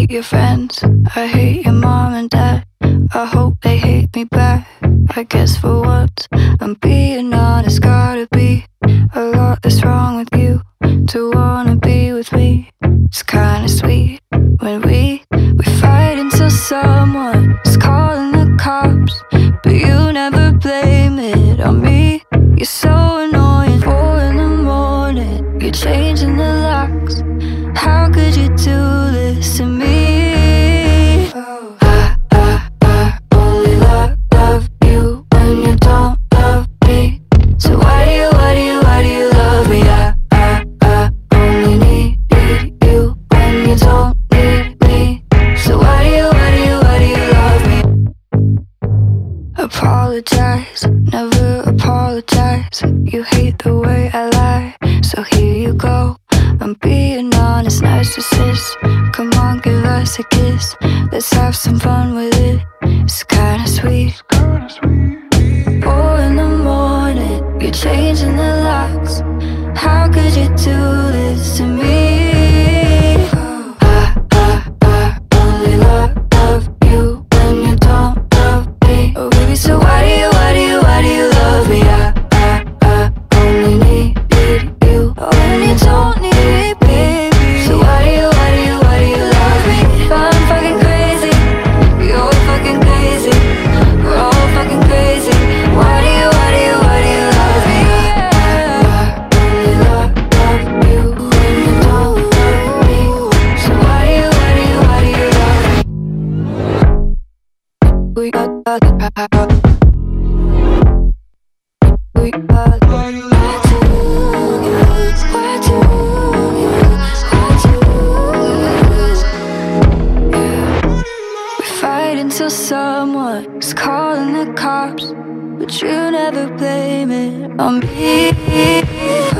hate your friends, I hate your mom and dad. I hope they hate me back. I guess for once I'm being honest. Gotta be a lot that's wrong with you to wanna be with me. It's kinda sweet when we fight until someone's calling the cops, but you never blame it on me. You're so annoying. 4 in the morning, you're changing the locks. How could you do this to me? I only love you when you don't love me. So why do you love me? I only need you when you don't need me. So why do you love me? Apologize, never apologize. You hate the way I lie, so here you go. I'm being honest, narcissist. Come on, give us a kiss. Let's have some fun with it. It's kinda sweet. 4 in the morning, you're changing the locks. How could you do this to me? I only love you when you don't love me. Oh baby, so why do you love me? I only need you when you don't need me, baby. So why do you love me? I'm fucking crazy, you're fucking crazy, we're all fucking crazy. Why do you love me? I only love you when you don't love me. So why do you love me? We got until someone's calling the cops, but you never blame it on me.